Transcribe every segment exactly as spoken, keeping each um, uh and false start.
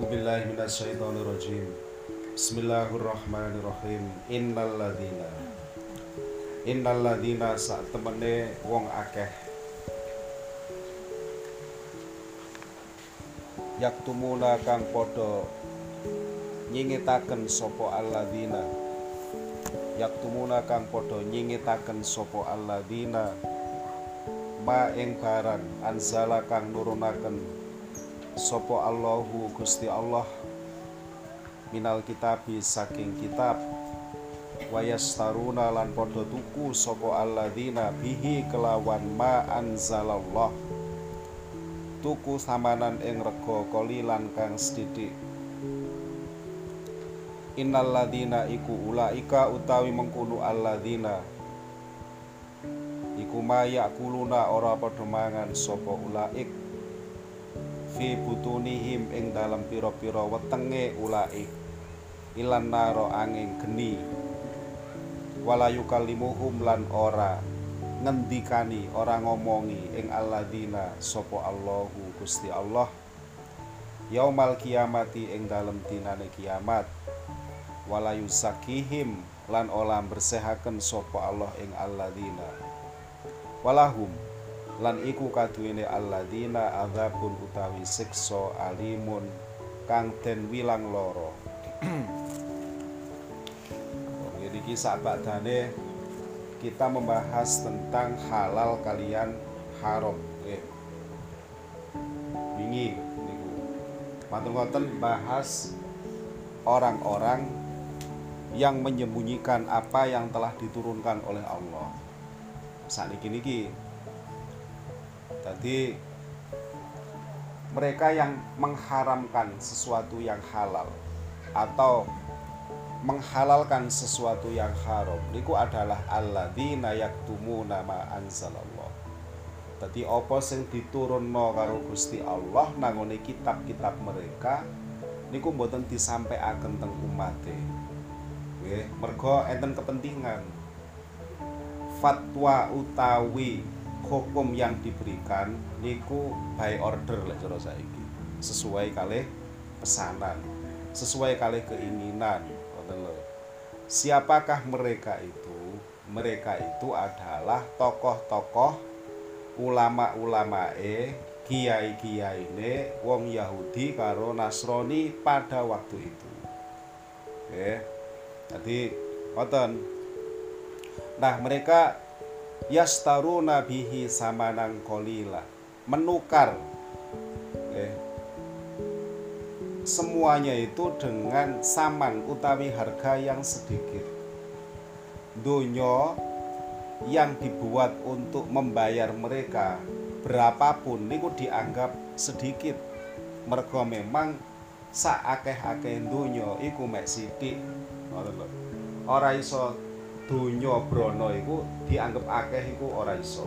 A'udzubillahi minasyaitonirrajim. Bismillahirrahmanirrahim. Innalladzina Innalladzina sak temene wong akeh yaktumuna kang padha nyingitaken sapa alladzina yaktumuna kang padha nyingitaken sapa alladzina ma ing barang anzala kang nurunaken sapa Allahu Gusti Allah minal kitabi saking kitab wayastaruna lan padha tuku sapa alladzina bihi kelawan ma anzalallah tuku samanan ing rega qalilan kang sithik. Innalladzina iku ulaika utawi mengkono alladzina iku mayakuluna ora padha mangan sapa ulaik fi butunihim ing dalam pira-pira wetenge ulaik ilan naro angin geni wala yukallimuhum lan ora ngendikani ora ngomongi ing alladzina sapa Allahu Gusti Allah yaumal kiamati ing dalam dinane kiamat wala yuzakihim lan ora bersehaken sapa Allah ing alladzina walahum lan iku kaduwene alladzina adzabun utawi siksa alimun kang den wilang loro. Jadi kisah badane kita membahas tentang halal kalian haram. Eh. Wingi niku. Matur ngoten bahas orang-orang yang menyembunyikan apa yang telah diturunkan oleh Allah. Sakniki niki Tadi mereka yang mengharamkan sesuatu yang halal atau menghalalkan sesuatu yang haram niku adalah alladzina yaktumuna ma anzalallah. Dadi apa sing diturunno karo Gusti Allah nangone kitab-kitab mereka niku mboten disampaikan teng umate. Nggih, mergo enten kepentingan. Fatwa utawi hukum yang diberikan niku by order lek cara saiki, sesuai kalih pesanan, sesuai kalih keinginan. Siapakah mereka itu? Mereka itu adalah tokoh-tokoh ulama-ulamae, kiai-kiyaine wong Yahudi karo Nasrani pada waktu itu. Oke. Jadi ngoten. Nah, mereka yastaruna bihi samanan qalila, menukar eh, semuanya itu dengan saman utawi harga yang sedikit. Donya yang dibuat untuk membayar mereka berapapun niku dianggap sedikit, mergo memang sak akeh-akeh donya iku mek sithik. Ora iso donya brana iku dianggap akeh iku ora iso.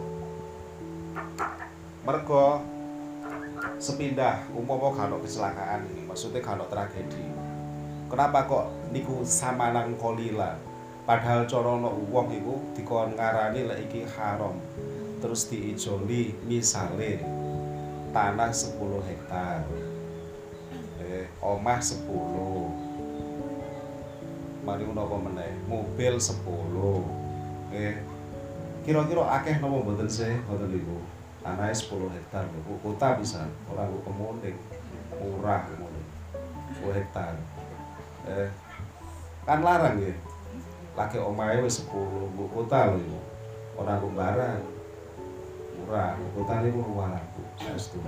Mergo sepindah umpama kano kecelakaan ini, maksudnya kano tragedi. Kenapa kok niku samanang kolila? Padahal corono wong iku dikon ngarani lek iki haram. Terus diijoli misale tanah sepuluh hektar. Eh, omah sepuluh. Mari menapa meneh, mobil sepuluh. Eh, kira-kira akeh napa mboten sih ngoten niku. Tanahe sepuluh hektar lho, kota bisa, ora kok kemuning. Murah ngono. sepuluh hektar. Eh, kan larang nggih. Lagi omahe wis sepuluh, mbok kota lho iku. Ora kok barang. Murah, kota niku ruwalaku. Saestu.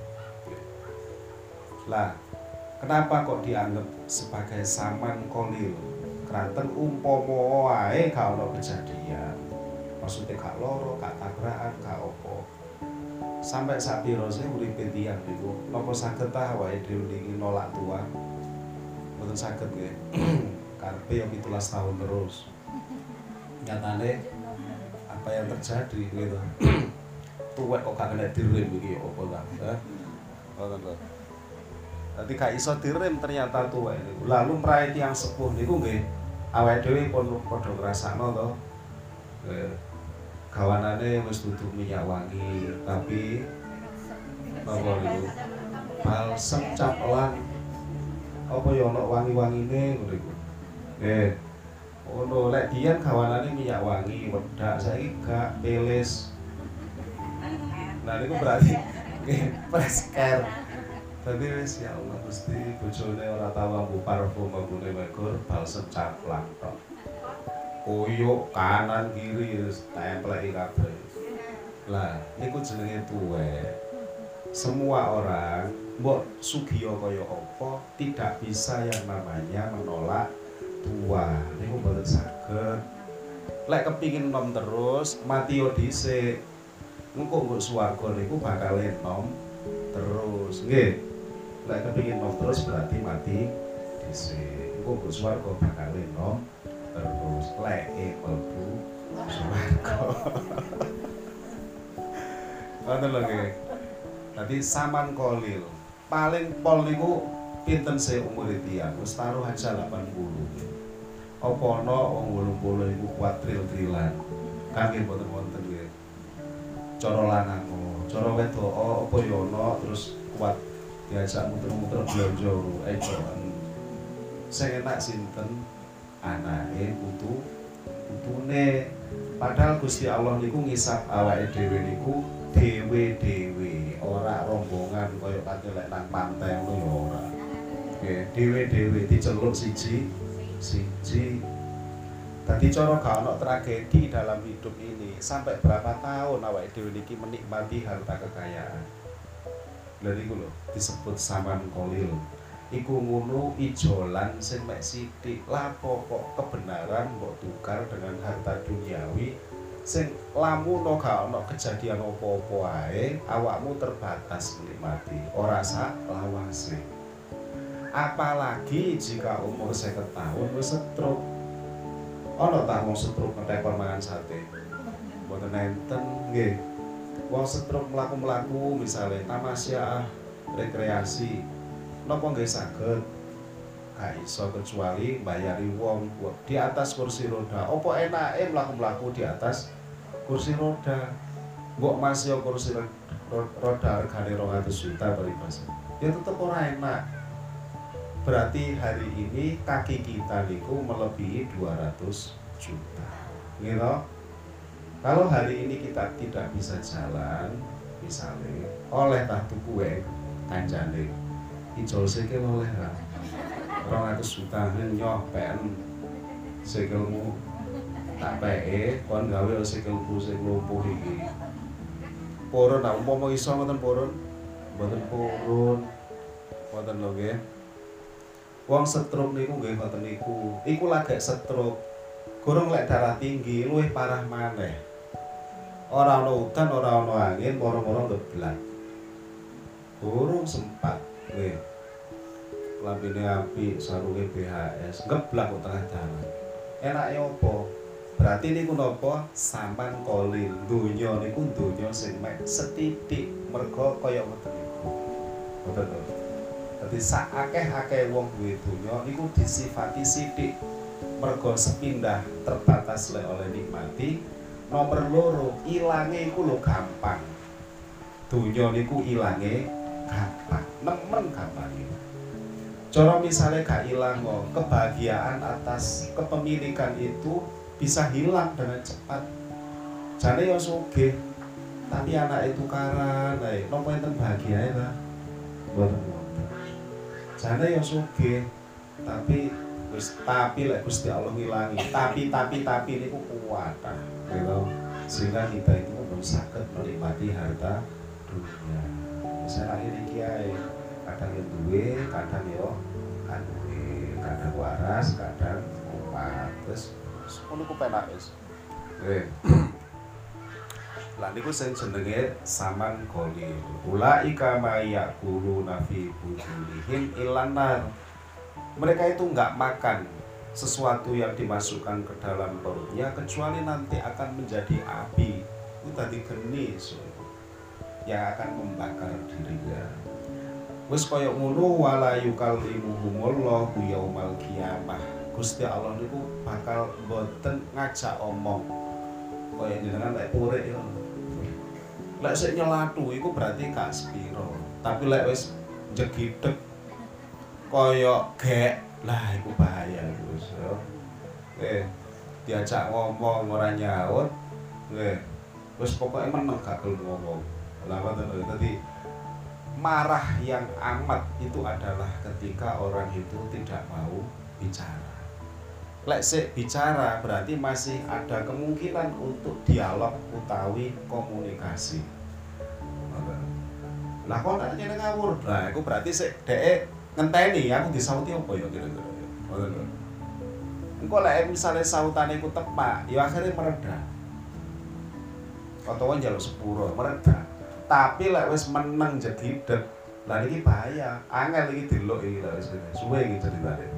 Lah, kenapa kok dianggap sebagai saman kolil? Kranten umpama wae gak ono kejadian. Maksudnya gak loro, gak tabrakan, gak opo. Sampai sak pira sih uripe tiyang niku, napa saged ta wae dhewe niki nolak tua? Mboten saged nggih. Karepe yo pitulas tahun terus. Nyatane apa yang terjadi gitu. Tuwek kok gak kena direm iki opo ta? Heh. Ngoten lho. Dadi gak iso direm ternyata tuwek niku. Lalu mrae tiyang sepuh niku nggih awake dhewe pun padha ngrasakno to. Eh, gawanane wis dudu minyak wangi, tapi napa niku balsem caplan apa ya ana wangi-wangine ngono iku. Nggih. Ngono lek dian gawanane minyak wangi, wedak saiki gak peles. Nah niku berarti nggih fresh care. Dadi wis ya Allah Gusti bojone ora tau nganggo parfum ambune megur balsem caplak tok. Koyok kanan kiri wis templeki kabeh. Lah niku jenenge tuwek. Semua orang mbok sugiya kaya apa tidak bisa yang namanya menolak tua. Niku mboten saged. Lek kepingin nom terus mati yo dhisik. Engko nggo swarga niku bakal enom terus. Nggih. Lek kepingin nom terus berarti mati dhisik. Engko nggo swarga bakal enom terus. Lek mlebu swarga. Ngoten lho nggih. Dadi saman kolil. Paling pol niku pinten sih umur tiyang? Wis taruh aja delapan puluh. Apa ana wong wolung puluh iku kuat tril-trilan. Kangge mboten wonten nggih. Cara lanang, cara wedok apa ya ana terus kuat diajak muter-muter blonjo ecoan. Sing enak sinten? Anake putu putune. Padahal Gusti Allah niku ngisap awake dhewe niku dhewe-dhewe, ora rombongan kaya kate lek nang pantai ngono ya ora. Nggih, dhewe-dhewe diceluk siji siji. Dadi cara gak ono tragedi dalam hidup ini. Sampai berapa tahun awake dhewe niki menikmati harta kekayaan. Lha niku lho disebut saman kolil. Iku ngono ijolan sing mek sithik. Lapo kok kebenaran mbok tukar dengan harta duniawi sing lamun gak ono kejadian apa-apa wae awakmu terbatas menikmati ora sak lawase. Apalagi jika umur seket tahun wis stroke. Ono ta wong stroke ngetekor mangan sate? Mboten enten nggih. Wong stroke mlaku-mlaku misale tamasya rekreasi napa nggih saged? Gak iso kecuali bayari wong di atas kursi roda. Apa enake mlaku-mlaku di atas kursi roda? Mbok Mas yo kursi roda regane rong atus juta peribas. Ya tetep ora enak. Berarti hari ini kaki kita niku melebihi dua ratus juta. Nggih toh? Kalau hari ini kita tidak bisa jalan, misalnya oleh tah tuku wae kancane. Ijol sikil oleh ra. rong atus juta nyoh P N sikilmu tak peke kon gawe sikilku sing lumpuh iki. Purun ta umpama iso ngoten purun? Mboten purun. Mboten lho nggih. Wong stroke niku nggih ngoten niku. Iku lagek stroke. Gorong lek darah tinggi luwih parah maneh. Ora ana udan, ora ana angin, moro-moro ngeblak. Gorong sempat nggih. Lambene apik, sarunge B H S, ngeblak kok tengah dalan. Enake opo? Berarti niku napa? Saman kolil. Donya niku donya sing mek setitik merga kaya ngoten niku. Ngoten to. Dadi sak akeh-akeh wong duwe donya niku disifati sithik merga sepindah terbatas le oleh nikmati. Nomor loro, ilange iku lho gampang. Donya niku ilange gampang, nemen gampang. Cara misalnya gak ilang kok, kebahagiaan atas kepemilikan itu bisa hilang dengan cepat. Jane yo sugih, tapi anak itu tukaran, ae nopo enten bahagia ta? Mboten wonten. Jane yo sugih, tapi wis tapi lek Gusti Allah ngilangi. Tapi tapi tapi niku kuat ta. Gitu. Sehingga kita itu belum saged menikmati harta dunia. Misalnya akhir iki ae, kadang yo duwe, kadang yo kan duwe, kadang waras, kadang kuat. Terus ngono ku penak wis. Nggih. Lah niku sing jenenge saman kolil. Ulaika mayaquluna fi bujulihim ilanar. Mereka itu enggak makan sesuatu yang dimasukkan ke dalam perutnya kecuali nanti akan menjadi api. Itu tadi geni yang akan membakar dirinya. Wis kaya ngono wala yukallimuhumullahu yaumal qiyamah. Gusti Allah niku bakal mboten ngajak omong. Kaya jenengan lek purik yo. Lek sik nyelatu iku berarti gak sepiro. Tapi lek wis jegideg koyok gek lah iku bahaya Gus yo. Eh diajak ngomong ora nyaut. Eh wis pokoke meneng gak gelem ngomong. Lah ngoten lho. Dadi marah yang amat itu adalah ketika orang itu tidak mau bicara. Lek sik bicara berarti masih ada kemungkinan untuk dialog utawi komunikasi. Lah kok nek nyene ngawur. Lah iku berarti sik dhek ngenteni aku disauti apa ya kira-kira. Ngoten lho. Engko lek misale sautane iku tepak, ya akhirnya mereda. Utawa njaluk sepuro, mereda. Tapi lek wis meneng jedidet, lah iki bahaya. Angel iki delok iki lek wis suwe iki ceritane.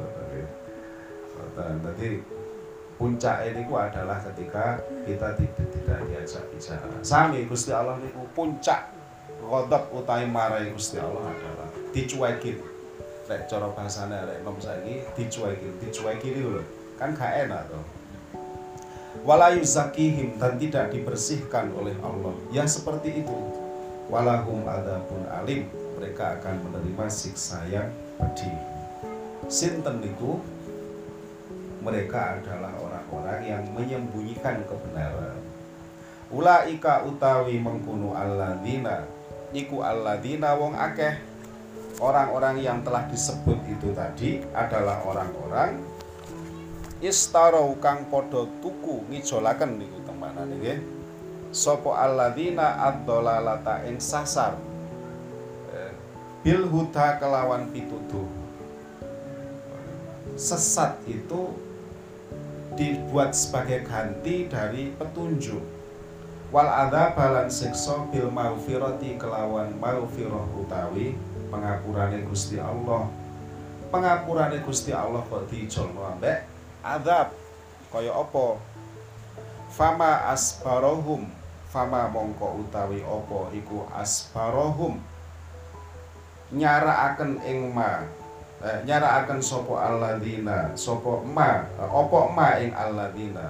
Jadi puncak ini adalah ketika kita tidak, tidak diajak bicara. Sami Gusti Allah niku puncak ghadab utawi marahi Gusti Allah adalah dicuekin. Lek cara bahasane arek nom saiki dicuekin, dicuekin itu lho. Kan gak enak to. Wala yuzakihim dan tidak dibersihkan oleh Allah. Yang seperti itu. Walahum adzabun alim, mereka akan menerima siksa yang pedih. Sinten niku mereka adalah orang-orang yang menyembunyikan kebenaran. Ulaika utawi mengkunu alladzina iku alladzina wong akeh. Orang-orang yang telah disebut itu tadi adalah orang-orang istarau kang padha tuku ngijolaken niku temanane nggih. Sapa alladzina ad-dhalalata ing sasar bil huda kelawan pituduh. Sesat itu dibuat sebagai ganti dari petunjuk. Wal adzab lan siksa bil maghfirati kelawan maghfirah utawi pengapurane Gusti Allah. Pengapurane Gusti Allah kok diijolno ambek adzab. Kaya apa? Fama asbarohum, fama mongko utawi apa iku asbarohum nyarakaken ing ma Eh, nyarakaken sapa alladzina sapa ma apa ma ing alladzina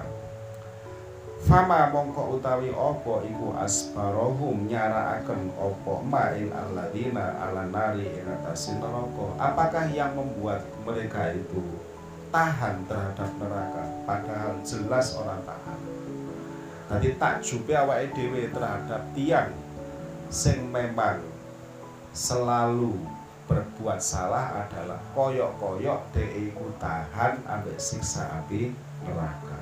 fama mongko utawi apa iku asbarohum nyarakaken apa ma ing alladzina ala nari ing atase neraka. Apakah yang membuat mereka itu tahan terhadap neraka padahal jelas orang tahan. Tadi takjube awake dhewe terhadap tiang sing memang selalu berbuat salah adalah koyok-koyok dhek iku tahan ambek siksa api neraka.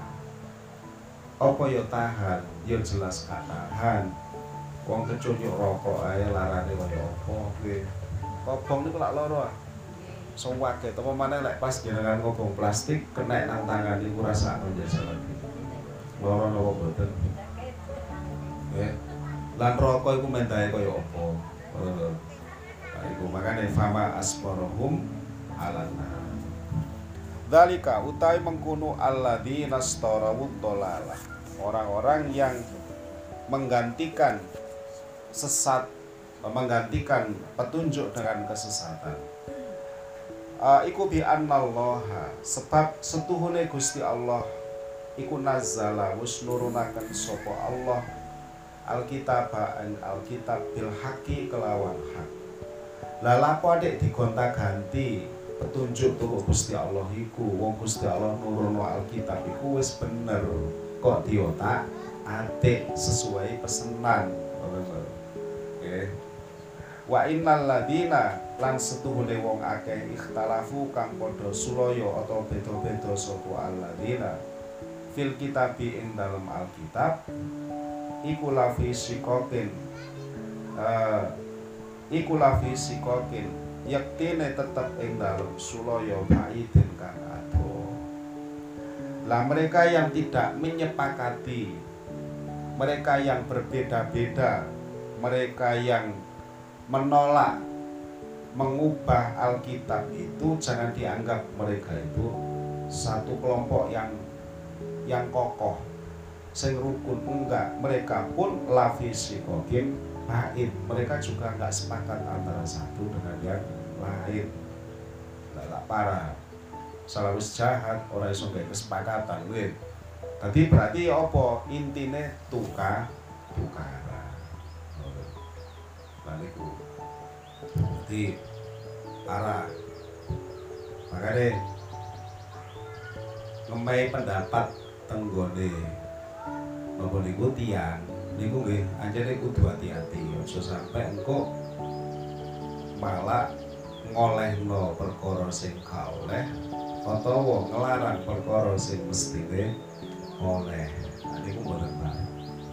Apa ya tahan? Ya jelas gak tahan. Wong kecunyuk rokok ae larane kaya apa nggih. Kobong niku lak lara. Sewake apa maneh lek pas jenengan ngobong plastik kena nang tangan niku rasane njajal lagi. Lara napa boten? Nggih. Lan rokok iku mendahe kaya apa? Ngono. Iku makane fama asbarohum alana. Dzalika utai mengkunu alladzina starawud dolalah. Orang-orang yang menggantikan sesat, menggantikan petunjuk dengan kesesatan. Uh, iku bi annallaha sebab setuhune Gusti Allah iku nazzala wis nurunaken sapa Allah alkitab an alkitab bil haqqi kelawan hak. Lah lapo adek digonta-ganti petunjuk tuku Gusti Allah iku. Wong Gusti Allah nurono Alkitab iku wis bener. Kok diotak atik sesuai pesenan. Nggih. Wa innal ladina lan setuhune wong akeh ikhtalafu kang padha sulaya atau beda-beda sapa alladzina fil kitabi ing dalam Alkitab iku lafi sikokin uh, iku lafi sikokin yektine tetep ing dalem sulaya baidin kang adoh. Lah mereka yang tidak menyepakati, mereka yang berbeda-beda, mereka yang menolak mengubah Alkitab itu jangan dianggap mereka itu satu kelompok yang yang kokoh sing rukun, enggak. Mereka pun lafi sikokin lain, mereka juga nggak sepakat antara satu dengan yang lain. Nggak parah, salah wis jahat, orang iso nggak kesepakatan, wih. Tadi berarti apa? Intine tukar tukaran. Baliku. Jadi parah. Makane ngemai pendapat tenggone napa niku tiyang niku nggih anjene kudu hati-hati aja sampe engko malah ngolehno perkara sing gak oleh utawa ngelarang perkara sing mestine oleh. Nah, niku mboten baik.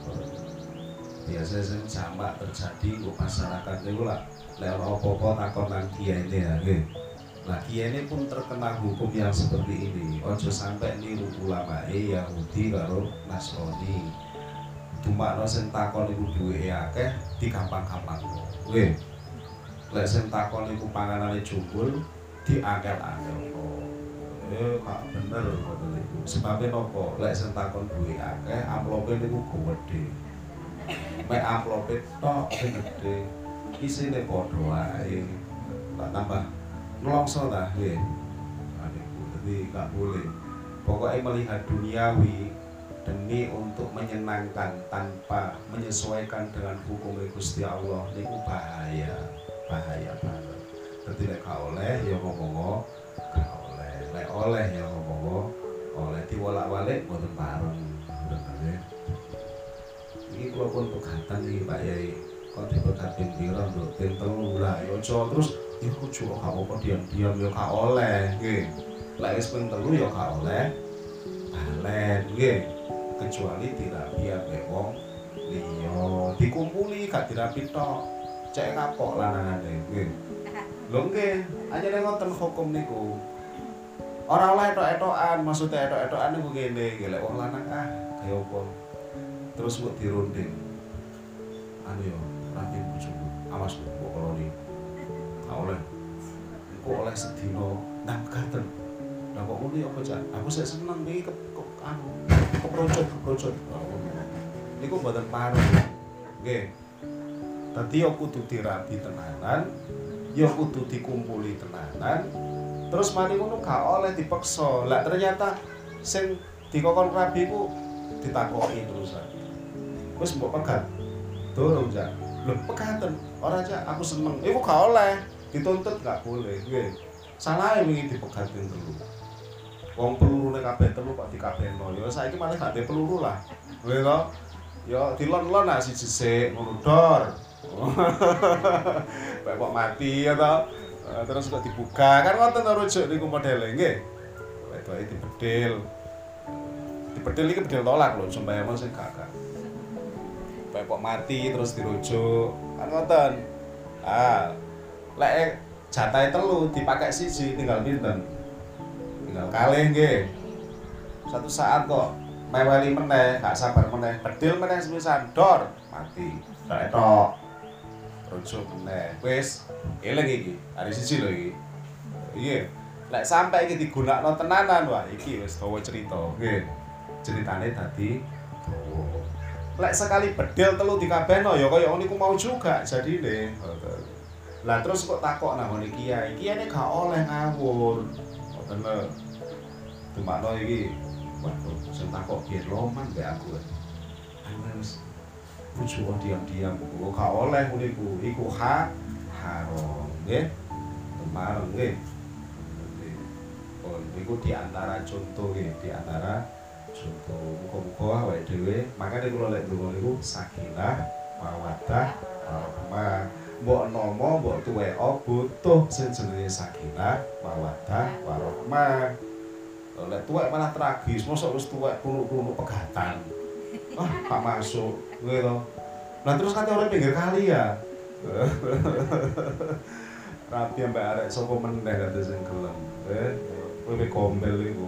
Biasa sing jamak terjadi kok masyarakat niku lah lek ana apa-apa takon nang kiyaine ya nggih. Lah kiyaine pun terkena hukum yang seperti ini. Aja sampai niru ulamae Yahudi karo Nasrani. Dumakno sing takon iku duweke akeh digampang-gampangno. Nggih. Lek sing takon iku panganane jumbul diangkel-angkelno. Eh gak bener ngoten niku. Sebabe napa? Lek sing takon duwe akeh, amplope niku gede. Mek amplope tok sing gedhe. Isine padha wae. Tak tambah nelongso ta nggih. Nah niku dadi gak boleh. Pokoknya melihat duniawi demi untuk menyenangkan tanpa menyesuaikan dengan hukum Gusti Allah niku bahaya. Bahaya banget. Dadi lek gak oleh ya ngomong gak oleh. Lek oleh ya ngomong oleh diwolak-walik mboten bareng. Bener. Iki kula pun pegatan iki Pak Yai. Kok dipegat ping pira nduk ping telu lah ya aja terus iku juga gak apa-apa diam-diam ya gak oleh nggih. Lek wis ping telu ya gak oleh balen nggih. Kecuali dirapi ambek wong liya. Dikumpuli gak dirapi tok. Cek kapok lanangane nggih. Lho nggih, anjene ngoten hukum niku. Ora oleh etok-etokan, maksudnya etok-etokan niku ngene, nggih lek wong lanang ah kaya apa. Terus kok dirunding. Anu yo, rapi bojoku. Awas kok koloni. Gak oleh. Engko oleh sedina nang gaten. Lah kok ngono apa, Cak? Aku sik seneng iki ke, ke anu, keprocot-keprocot. Niku mboten pareng. Nggih. Dadi ya kudu dirabi tenanan, ya kudu dikumpuli tenanan. Terus mari ngono gak oleh dipaksa. Lah ternyata sing dikokon rabi ku ditakoki terusan. Wis mbok pegat. Durung, Cak. Lho, pegaten. Ora, Cak, aku seneng. Iku gak oleh. Dituntut gak boleh. Nggih. Salahe wingi dipegatin telu. Wong pelurune kabeh telu kok dikabehno. Ya saiki malah gak ndek peluru lah. Nggih to? Ya dilon-lon ah siji sik ngono dor. Bae kok mati ya to. Terus kok dibuka. Kan ngoten to rujuk niku modele nggih. Wedoke dibedil. Dibedil iki bedil tolak lho, sembayang sing gak-gak. Bae kok mati terus dirujuk. Kan ngoten. Ah, lek jatahe telu dipakai siji tinggal pinten? Tinggal kalih nggih. Satu saat kok meweli meneh, gak sabar meneh, bedil meneh sepisan dor, mati. Tok etok. Rujuk meneh. Wis, eling iki. Hari siji lho iki. Iya. Lek sampai iki digunakno tenanan, wah iki wis dawa cerita, nggih. Ceritane dadi dawa. Lek sekali bedil telu dikabehno ya kaya niku mau juga jadine. Lah terus kok takok nang ngene kiai, kiyaine gak oleh ngawur. Ngoten lho. Dumakno iki, waduh, sing takok biyen loman mbek aku. Wis bujuk diam-diam, kok gak oleh niku. Iku hak haram, nggih. Mareng nggih. Oh, niku di antara contoh nggih, di antara contoh. Muga-muga awake dhewe, makane kula lek ndonga niku sakinah, mawaddah, warahmah. Mbok nomo, mbok tuweka butuh sing jenenge sakinah, mawaddah, warahmah. Lek tuwek malah tragis, mosok wis tuwek kuluk-kuluk pegatan. Ah, gak masuk, nggih to. Lah terus kate ora pinggir kali ya. Rapi ambek arek sapa meneh kate sing gelem. Eh, kowe gombel iku.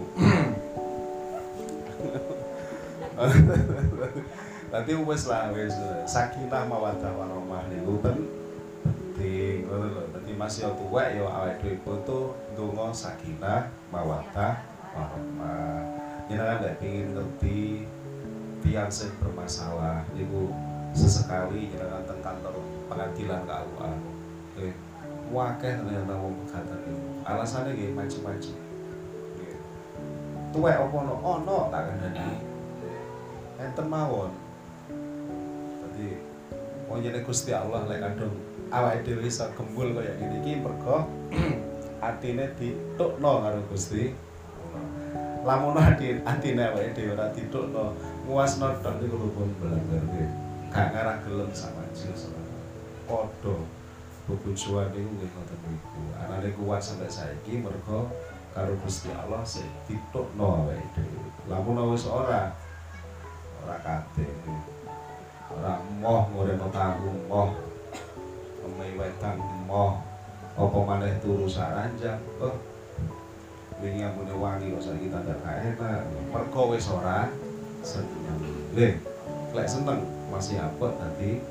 Nanti wis lah wis sakinah mawaddah warahmah niku penting ngono lho. Dadi masih tuwek ya awake dhewe butuh ndonga sakinah mawaddah warahmah. Jenengan nek pengin ngerti tiyang sing bermasalah niku sesekali jenengan teng kantor pengadilan K U A. Nggih. Wakeh ternyata wong pegatan niku. Alasane nggih macem-macem. Nggih. Tuwek apa ono? Ono tak kandhani. Enten mawon. Dadi wong jenenge Gusti Allah lek kadung awake dhewe iso gembul kaya ngene iki mergo atine ditukno karo Gusti. Lamun ati atine awake dhewe ora ditukno, nguasno tok niku lupun bener nggih. Gak ngarah gelem sama jil padha bebujuan niku nggih ngoten niku. Anane kuat sampai saiki mergo karo Gusti Allah sing ditukno awake dhewe. Lamun wis ora ora kate. Ora moh ngureno tahu moh. Omahe wedan moh. Apa maneh turu saranjang. Oh. Wingi ambune wangi kok saiki tandak gak enak. Mergo wis ora seneng. Lho, lek seneng masih apot tadi.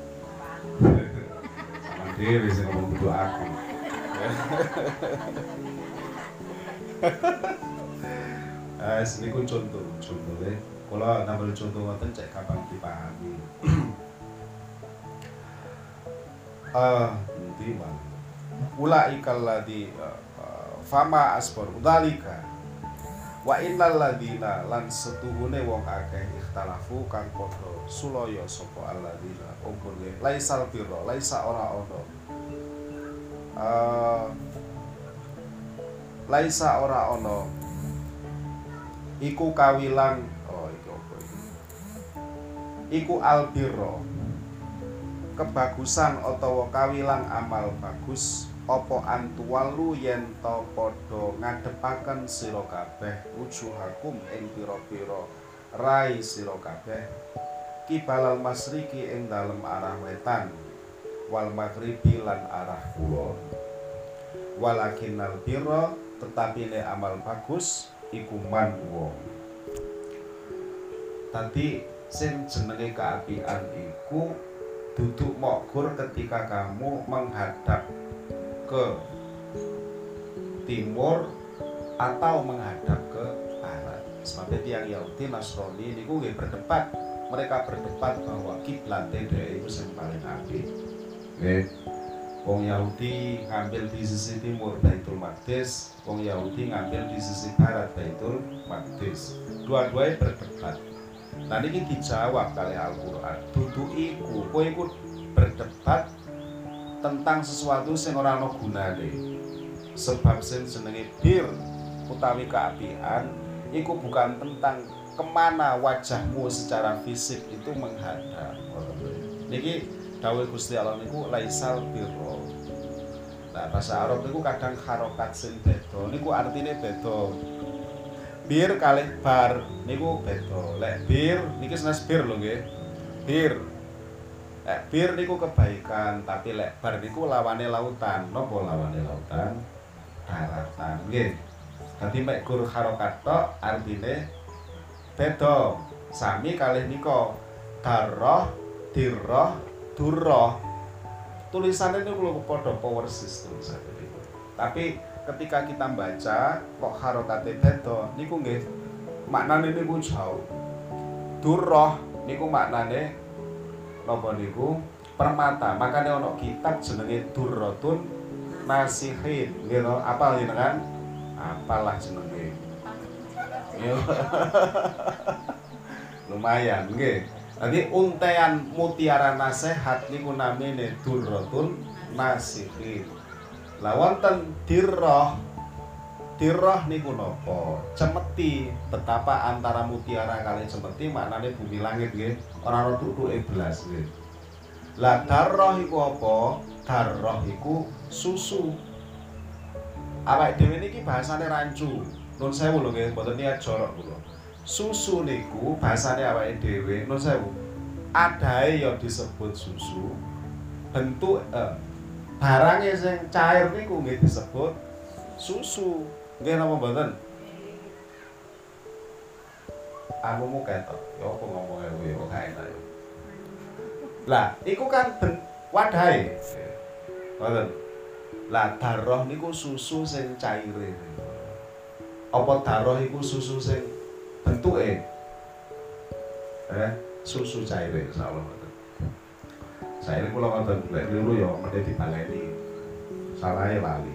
Sama dhewe sing ngomong kudu aku. Eh, niku contoh, contoh le. Kula nambah contoh ngoten cek kapan dipahami. Eh, nanti bang. Ulaikal ladzi fama asbar dzalika wa innal ladzina lan setuhune wong akeh ikhtalafu kang padha sulaya sapa alladzina umpur laisal birra laisa ora ono uh, laisa ora ono iku kawilang oh iki apa iki iku albirra kebagusan utawa kawilang amal bagus apa antuwalu yen ta padha ngadepaken sira kabeh wujuhakum ing pira-pira rai sira kabeh kibalal masriki ing dalem arah wetan wal maghribi lan arah kulon walakinnal birra tetapi ne amal bagus iku man wong tadi sing jenenge keapian iku duduk mokgur ketika kamu menghadap ke timur atau menghadap ke barat. Sebab tiang Yahudi Nasrani niku nggih berdebat, mereka berdebat bahwa kiblat dhewe iku sing paling apik. Nggih. Wong Yahudi ngambil di sisi timur Baitul Maqdis, wong Yahudi ngambil di sisi barat Baitul Maqdis. Dua-duanya berdebat. Nah niki dijawab kali Al-Qur'an. Dudu iku, kowe iku berdebat tentang sesuatu sing ora ana gunane. Sebab sing jenenge bir utawi keapian iku bukan tentang kemana wajahmu secara fisik itu menghadap. Niki dawuh Gusti Allah niku laisal birra. Nah bahasa Arab niku kadang harokat sing beda niku artine beda. Bir kalih bar niku beda. Lek bir niki senes bir lho nggih. Bir Lek bir niku kebaikan, tapi lek bar niku lawane lautan. Napa lawane lautan? Daratan. Nggih. Dadi mek gur harokat tok artine beda. Sami kalih nika darah, dirah, durah. Tulisannya niku lho padha persis tulisannya niku. Tapi ketika kita baca kok harokate beda niku nggih maknane niku jauh. Durah niku maknane napa niku permata. Makane ana kitab jenenge Durratun Nasihin. Nggih to, apal jenengan? Apalah jenenge. Lumayan nggih. Dadi untean mutiara nasihat niku namine Durratun Nasihin. Lah wonten dirrah. Dirrah niku napa? Cemeti. Betapa antara mutiara kali cemeti maknane bumi langit nggih. Ora ana tutuke blas nggih. Lah darrah iku apa? Darrah iku susu. Awake dhewe niki bahasane rancu. Nun sewu lho nggih, mboten niat jorok kula. Susu niku bahasane awake dhewe, nun sewu. Adahe ya disebut susu. Bentuk eh, barangnya sing cair niku nggih disebut susu. Nggih napa mboten? Amumu ketok. Ya apa ngomongnya kuwi kok gak enak ya. Lah, iku kan ben wadahe. Ngoten. Lah darah niku susu sing caire. Apa darah iku susu sing bentuke? Eh, susu caire insyaallah ngoten. Saiki kula ngoten lek niru ya mene dibaleni. Salahe lali.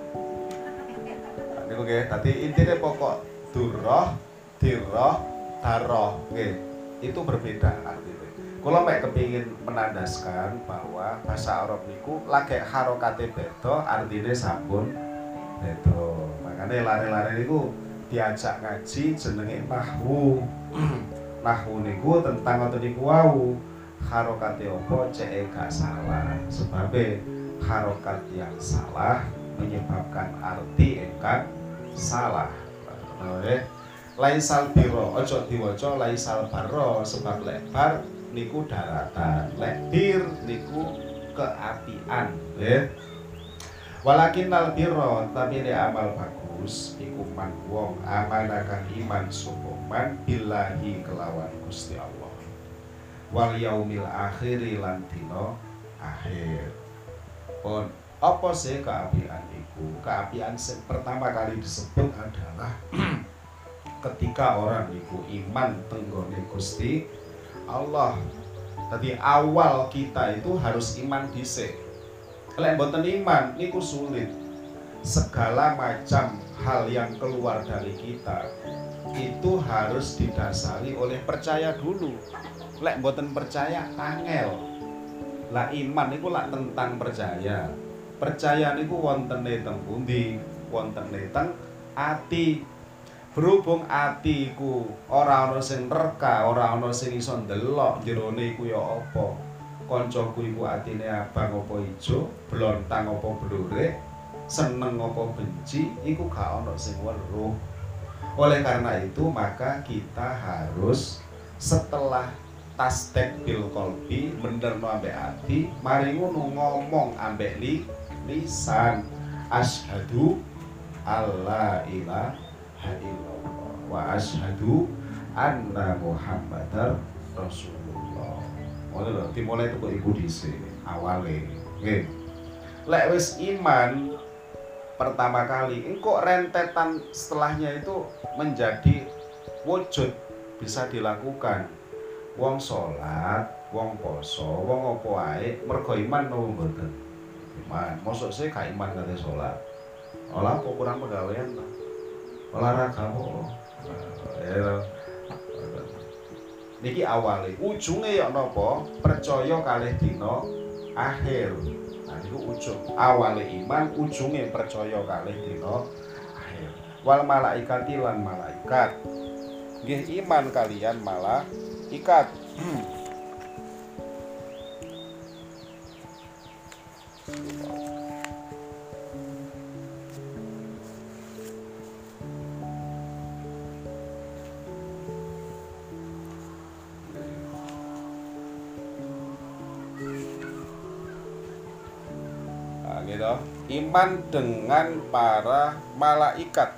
Niku nggih, dadi intine pokok durrah, dirrah, darah nggih. Itu berbeda artinya. Kula mek kepingin menandaskan bahwa bahasa Arab niku lagi harokate beda, artine sampun Itu makanya lare-lare niku diajak ngaji jenenge nahwu. Nahwu niku tentang ngoten niku wau. Harokate apa cek gak salah. Sebabe harokat yang salah menyebabkan arti ingkang salah. Oke. Laisal biro ojo diwaca laisal barro sebab lebar niku daratan. Lek bir niku keapian, nggih. Walakinnal birra tapi le amal bagus iku man wong amanakan iman sapa man billahi kelawan Gusti Allah. Wal yaumil akhiri lan dina akhir. Pun apa sih keapian iku? Keapian yang pertama kali disebut adalah ketika orang iku iman tenggone Gusti Allah. Tadi awal kita itu harus iman dhisik. Lek mboten iman niku sulit. Segala macam hal yang keluar dari kita itu harus didasari oleh percaya dulu. Lek mboten percaya angel. Lah iman niku lak tentang percaya. Percaya niku wontene teng pundi? Wontene teng ati. Berhubung ati iku ora ana sing reka, ora ana sing iso ndelok jerone iku ya apa. Kancaku iku atine abang apa ijo, blontang apa blurek, seneng apa benci, iku gak ana sing weruh. Oleh karena itu maka kita harus setelah tasdek bil qalbi menderno ambek ati, mari ngono ngomong ambek li, lisan asyhadu alla ilaha illallah wa asyhadu anna muhammadar rasulullah. Ngono lho, dimulai teko iku dhisik awale. Nggih. Lek wis iman pertama kali, engko rentetan setelahnya itu menjadi wujud bisa dilakukan. Wong salat, wong poso, wong apa wae mergo iman nopo mboten? Iman. Mosok sih gak iman kate salat. Olah apa kurang pegawean ta? Olahraga kok. Ya. Niki awale, ujunge ya napa? Percaya kalih dina akhir. Nah niku ujung. Awale iman, ujunge percaya kalih dina akhir. Wal malaikati lan malaikat. Nggih iman kalian malaikat. Gitu. Iman dengan para malaikat.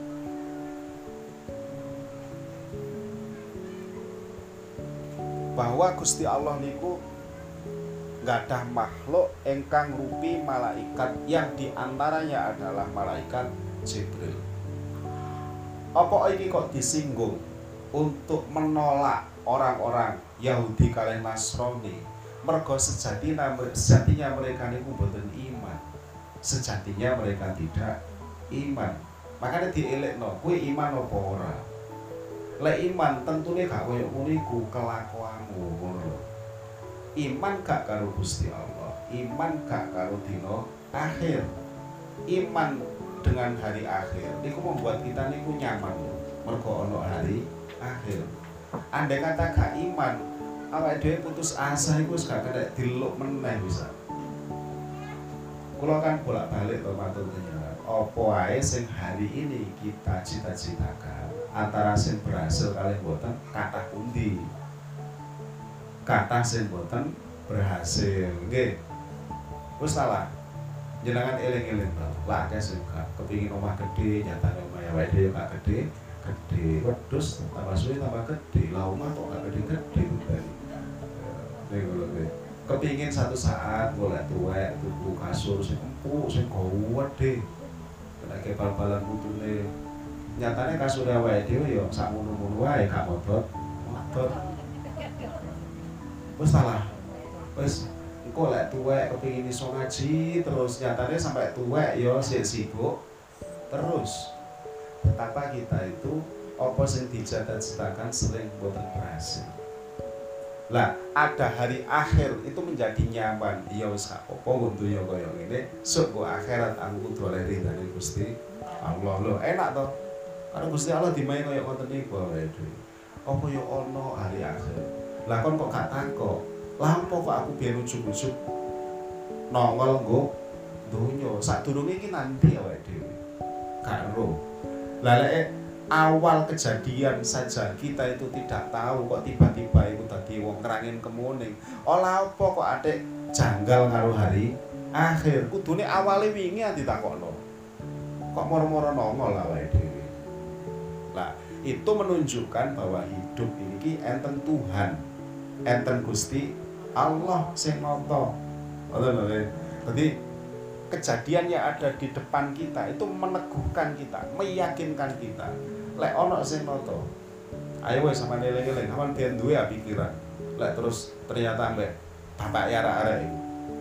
Bahwa Gusti Allah niku gadah makhluk engkang rupi malaikat yang diantaranya adalah malaikat Jibril. Apa ini kok disinggung untuk menolak orang-orang Yahudi kalian Nasrani? Mergo sejatinya, sejatinya mereka niku mboten iman. Sejatinya mereka tidak iman. Makanya dielekno, kowe iman apa ora? Lek iman tentune gak koyo ngono iku kelakuanmu ngono lho. Iman gak karo Gusti Allah, iman gak karo dina akhir. Iman dengan hari akhir niku membuat kita niku nyaman lho. Mergo ana hari akhir. Andai kata gak iman, awake dhewe putus asa iku wis gak kena diluk meneh bisa. Kula kan bolak-balik to matur jenengan. Apa wae sing hari ini kita cita-citakan, antara sing berhasil kalian boten kathah pundi. Kathah sing boten berhasil, nggih. Wis salah. Jenengan eling-eling to. Lah akeh sing kepengin omah gedhe, nyatane omah awake dhewe gak gedhe, gedhe. Wedhus tambah suwe tambah gedhe. Lah omah kok gak gedhe-gedhe to. Ning ngono kuwi. Kepingin satu saat golek tuwek tuku kasur sing empuk sing gowedhe kena bal-balan putune nyatane kasur awake dhewe ya sak ngono-ngono wae gak modot modot wis salah wis engko lek tuwek kepingin iso ngaji terus nyatane sampai tuwek ya sik sibuk terus betapa kita itu apa sing dicita-citakan sering boten berhasil. Lah, ada hari akhir itu menjadi nyaman. Ya wis gak apa-apa wong donya kaya ngene, sok go akhirat aku kudu oleh ridane Gusti Allah. Lho, enak to. Karena Gusti Allah dimae kaya ngoten niku awake dhewe. Apa ya ana hari akhir. Lah kon kok gak takok. Lah apa kok aku biyen ujug-ujug nongol nggo donya. Sadurunge iki nanti awake dhewe. Gak ero. Lah lek awal kejadian saja kita itu tidak tahu kok tiba-tiba itu tadi wong kerangin kemuning. Olah apa kok adek janggal karo hari akhir. Kudune awale wingi ditakokno. Kok moro-moro nongol awake dhewe. Lah, itu menunjukkan bahwa hidup ini enten Tuhan, enten Gusti Allah sing nata. Ngoten lho. Jadi kejadian yang ada di depan kita itu meneguhkan kita, meyakinkan kita. Lek ana sing nata. Ayo wis sampeyan eling-eling, sampeyan ben duwe pikiran. Lek terus ternyata mbek bapak ya arek-arek iku.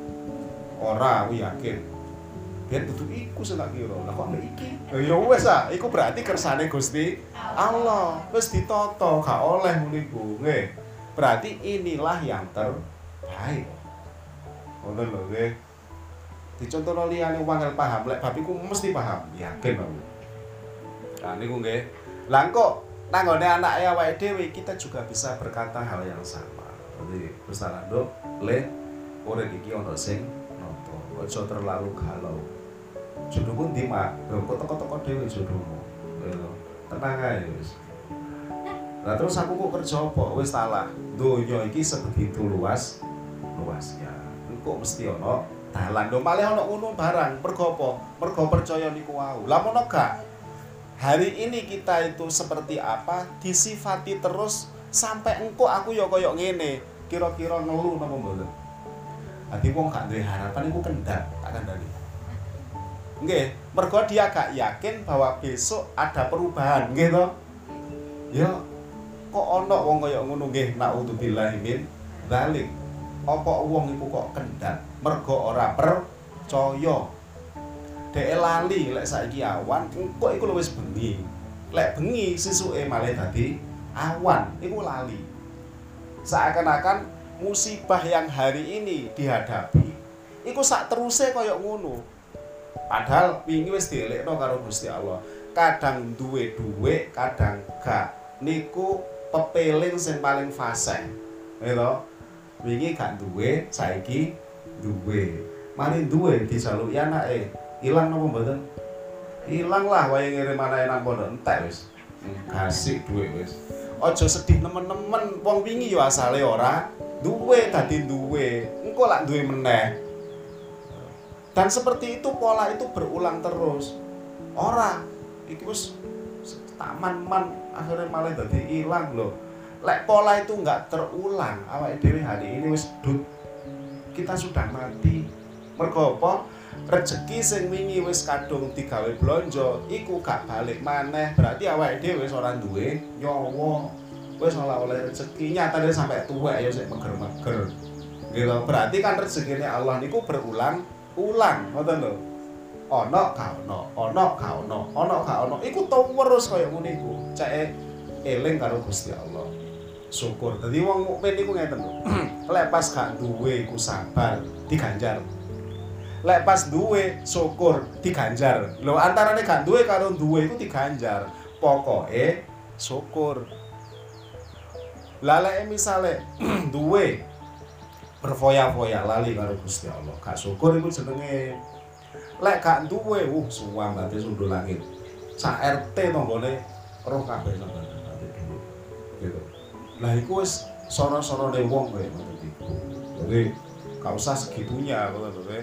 Ora aku yakin. Biar dudu iku sing tak kira. Lah kok mbek iki? Ya wis ah, iku berarti kersane Gusti Allah. Wis ditata, gak oleh ngono iku. Nggih. Berarti inilah yang terbaik. Ngono lho nggih. Dicontohno liyane wong paham, lek bab iku mesti paham, yakin aku. Lah niku nggih. Lah kok nanggone anake awake dhewe kita juga bisa berkata hal yang sama. Jadi bersalah nduk, le urip iki ana sing nata. Aja terlalu galau. Jodohmu ndi, Mak? Lho kok teko-teko dhewe jodohmu. Lho, tenang ae wis. Lah terus aku kok kerja apa? Wis salah. Donya iki sebegitu luas luasnya. Engko mesti ana dalan. Lho malih ana ngono barang. Mergo apa? Mergo percaya niku wau. Lah mono gak? Hari ini kita itu seperti apa? Disifati terus sampai engko aku ya kaya ngene. Kira-kira ngeluh napa mboten? Ati wong gak duwe harapan iku kendhat, tak kandhani. Nggih, mergo dia gak yakin bahwa besok ada perubahan, nggih to? Ya kok ana wong kaya ngono nggih, naudzubillahi min dzalik. Apa wong iku kok kendhat mergo ora percaya. Dhek lali lek saiki awan, engko iku wis bengi. Lek bengi sesuke malih dadi awan, iku lali. Seakan-akan musibah yang hari ini dihadapi iku sak teruse kaya ngono. Padahal wingi wis dielekno karo Gusti Allah. Kadang duwe dhuwit, kadang gak. Niku pepeling sing paling fasih. Lho. Wingi gak duwe, saiki duwe. Mari duwe dijaluki anake. Ilang napa mboten? Ilang lah wae ngirim anake nang pondok entek wis. Gasik dhuwit wis. Aja sedih nemen-nemen, wong wingi ya asale ora duwe dadi duwe. Engko lak duwe meneh. Dan seperti itu pola itu berulang terus. Ora iki wis taman-man akhirnya malah dadi ilang lho. Lek pola itu enggak terulang, awake dhewe hari ini wis dut. Kita sudah mati. Mergo apa? Rezeki sing wingi wis kadung digawe blonjo iku gak balik maneh. Berarti awake dhewe wis ora duwe nyawa. Wis ora oleh rezeki, nyatane sampai tuwek ya sik meger-meger. Gitu. Berarti kan rezekine Allah niku berulang-ulang, ngoten lho. Ana gak ana, ana gak ana, ana gak ana. Iku terus kaya ngene iku. Ceke eling karo Gusti Allah. Syukur. Dadi wong mukmin iku ngeten lho. Lek pas gak duwe iku sabar, diganjar. Lek pas duwe syukur diganjar. Lho antarane gak duwe karo duwe iku diganjar. Pokoke syukur. Lah lek misale duwe berfoya-foya lali karo Gusti Allah. Gak syukur iku jenenge. Lek gak duwe, uh suwang ate sundul langit. Sak R T tanggane roh kabeh sampeyan ate dulu. Gitu. Lah iku wis sono-sonone wong kowe ngoten iku. Jadi gak usah segitunya ngoten lho.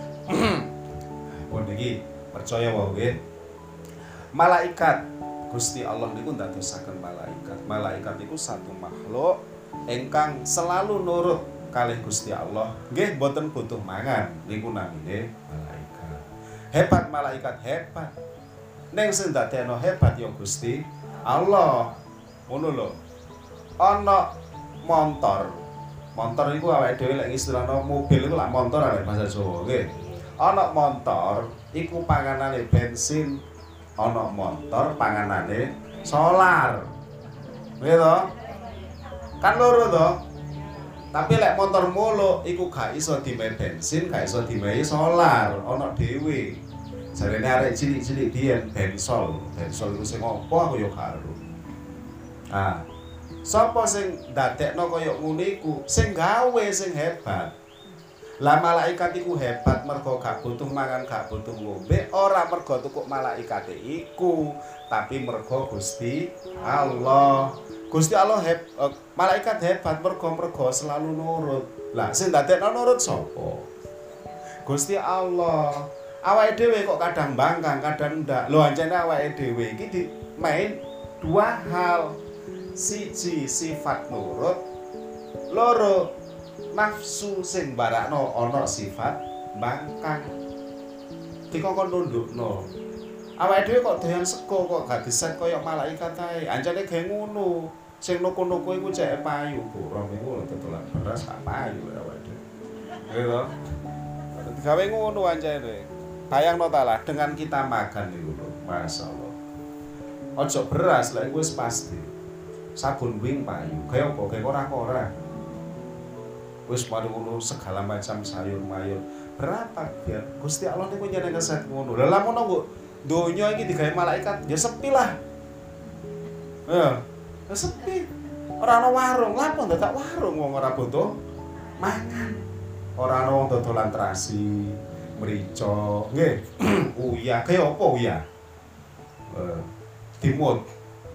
Pun iki percaya wae nggih. Malaikat Gusti Allah niku ndadosaken malaikat. Malaikat iku satu makhluk ingkang selalu nurut kalih Gusti Allah. Nggih mboten butuh mangan niku namine malaikat. Hebat malaikat hebat. Ning sing ndadekno hebat ya Gusti Allah. Ngono lho. Ana montor. Montor iku awake dhewe lek istilahno mobil iku lak montor arek bahasa Jawa nggih. Ana montor iku panganane bensin, ana montor panganane solar. Nggih to? Kan loro to? Tapi lek motor muluk iku gak iso dimain bensin, gak iso dimain solar, ana dhewe. Jarene arek cilik-cilik biyen bensol, bensol iku sing apa aku ya karo. Ah. Sapa sing ndadekno kaya ngene iku? Sing gawe sing hebat. Lah malaikat iku hebat mergo gak butuh mangan, gak butuh ngombe, ora mergo tukuk malaikate iku, tapi mergo Gusti Allah. Gusti Allah heb, uh, malaikat hebat mergo mergo selalu nurut. Lah sing ndadekno nurut sapa? Gusti Allah. Awake dhewe kok kadang bangkang, kadang ndak. Lho ancene awake dhewe iki di main dua hal. Siji sifat nurut, loro nafsu sing barakno ana sifat bangkang. Dikongkon nundukno. Awake dhewe kok doyan sego kok gak diset kaya malaikat ae. Ancene gawe ngono. Sing nuku-nuku iku cek payu, buram iku tetulan beras gak payu awake dhewe. Gitu. Digawe ngono ancene. Bayangno ta lah dengan kita makan niku lho, masyaallah. Ojo beras lek wis pasti. Sabun wing payu, kaya apa? Kaya ora-ora. Wis mari ngono segala macam sayur-mayur. Berapa biar Gusti Allah niku nyeneng keset ngono. Lah lamun kok donya iki digawe malaikat, ya sepi lah. Ya, ya sepi. Ora ana warung, lapo dadak warung wong ora butuh mangan. Ora ana wong dodolan terasi, mrica, nggih. Uya, kaya apa uya? Eh, timut.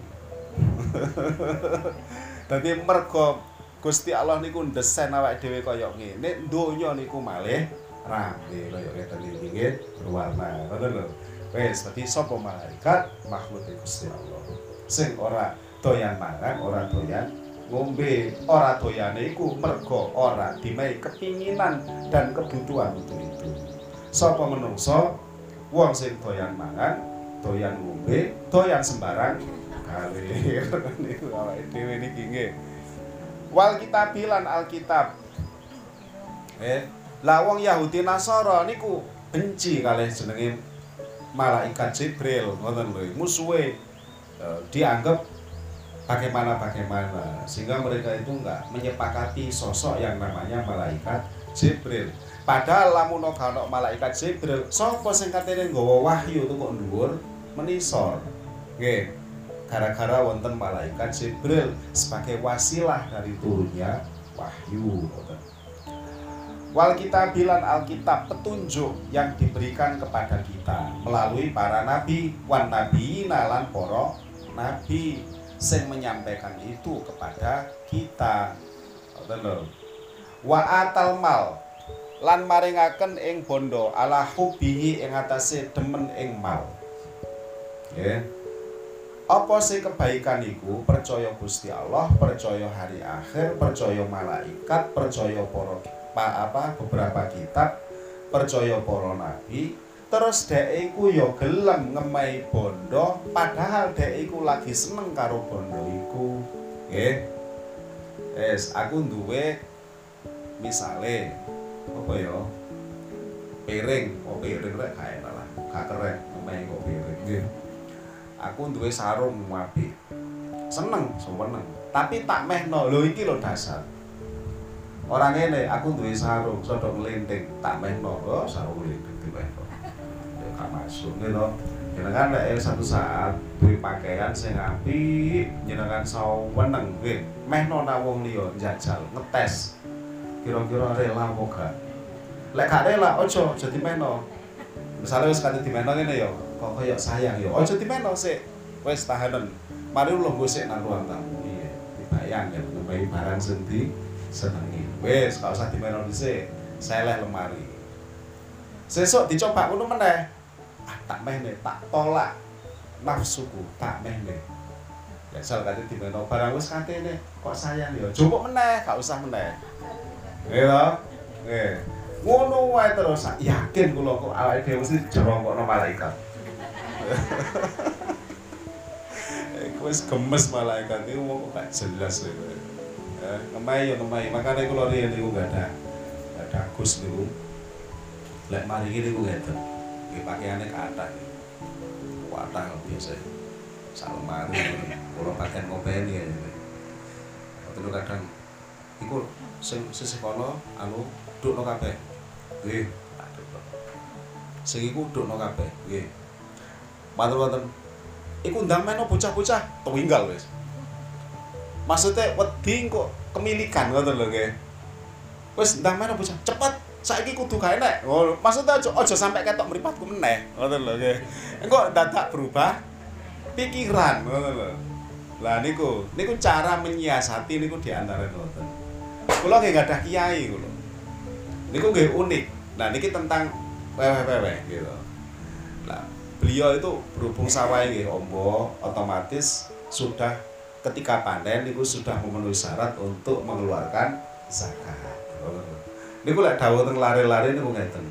Dadi mergo Gusti Allah niku ndesain awake dhewe kaya ngene, donya niku malih rame kaya ngeten iki nggih, berwarna. Ngoten lho. Wis, dadi sapa malaikat makhluk Gusti Allah. Sing ora doyan mangan, ora doyan ngombe, ora doyane iku mergo ora dimehi kepinginan dan kebutuhan untuk itu. Sapa menungso wong sing doyan mangan, doyan ngombe, doyan sembarang kalir niku awake dhewe niki nggih. Wal kitabilan Alkitab. Eh, lah wong Yahudi Nasara niku benci kalih jenenge malaikat Jibril, ngoten lho. Musuhe eh, dianggap bagaimana-bagaimana sehingga mereka itu enggak menyepakati sosok yang namanya malaikat Jibril. Padahal lamun ora ana malaikat Jibril, sapa sing katene nggawa wahyu tuh kok dhuwur menisor. Nggih. Gara-gara wonten malaikat Jibril sebagai wasilah dari turunnya wahyu. Wal kitabilan Alkitab, petunjuk yang diberikan kepada kita melalui para nabi, wan nabi nalan para nabi sing menyampaikan itu kepada kita. Wa atal mal lan maringaken ing bondo ala hubihi ing atase demen ing mal. Nggih. Apa sih kebaikan iku? Percaya Gusti Allah, percaya hari akhir, percaya malaikat, percaya para apa beberapa kitab, percaya para nabi. Terus dhek iku ya gelem ngemehi bondo, padahal dhek iku lagi seneng karo bondo iku. Nggih. Wes, aku duwe misale apa ya? Piring, oh piring rek gak enak lah, gak keren ngemehi kok piring nggih. Aku duwe sarung apik. Seneng, seneng. Tapi tak mehno. Lho iki lho dasar. Ora ngene, aku duwe sarung sodok nglenting, tak mehno. Oh, sarung nglenting dimehno. Ya gak masuk ngono. Jenengan lek satu saat duwe pakaian sing apik, jenengan seneng nggih. Mehno nang wong liya njajal, ngetes. Kira-kira rela apa gak? Lek gak rela, aja aja dimehno. Misale wis kate dimehno ngene ya. Kok kaya sayang ya. Aja dimeno sik. Wis tahanen. Mari lungguh sik nang ruang tamu. Iya, dibayang ya ngemehi barang sing disenengi. Wis, gak usah dimeno dhisik. Seleh lemari. Sesuk dicoba ngono meneh. Ah, tak mehne, tak tolak nafsuku, tak mehne. Ya sal kate dimeno barang wis katene kok sayang ya. Jupuk meneh, gak usah meneh. Nggih to? Nggih. Ngono wae terus yakin kula kok awake dhewe mesti jerongkokno malaikat. Iku wis gemes malaikat iku kok gak jelas lho. Ya, ngemai ya ngemai. Makane kula riyen niku gak ada gak ada Gus niku. Lek mari iki niku ngeten. Nggih pakaiane kathah. Kathah biasa. Sak lemari kula pakai ngopeni ya. Waktu kadang iku sing sisih kono anu dukno kabeh. Nggih. Sing iku dukno kabeh. Nggih. Matur wonten. Iku ndang meno bocah-bocah tuwinggal wis. Maksudnya wedi kok kemilikan ngoten lho nggih. Wis ndang meno bocah cepet saiki kudu gawe nek. Oh, maksudnya aja aja sampe ketok mripatku meneh. Ngoten lho nggih. Engko dadak berubah pikiran ngoten lho. Lah niku, niku cara menyiasati niku diantara ngoten. Kula nggih gadah kiai kula. Niku nggih unik. Nah niki tentang wewe-wewe gitu. Nah, beliau itu berhubung sawah nggih ombo, otomatis sudah ketika panen niku sudah memenuhi syarat untuk mengeluarkan zakat. Niku lek dawuh teng lare-lare niku ngeten.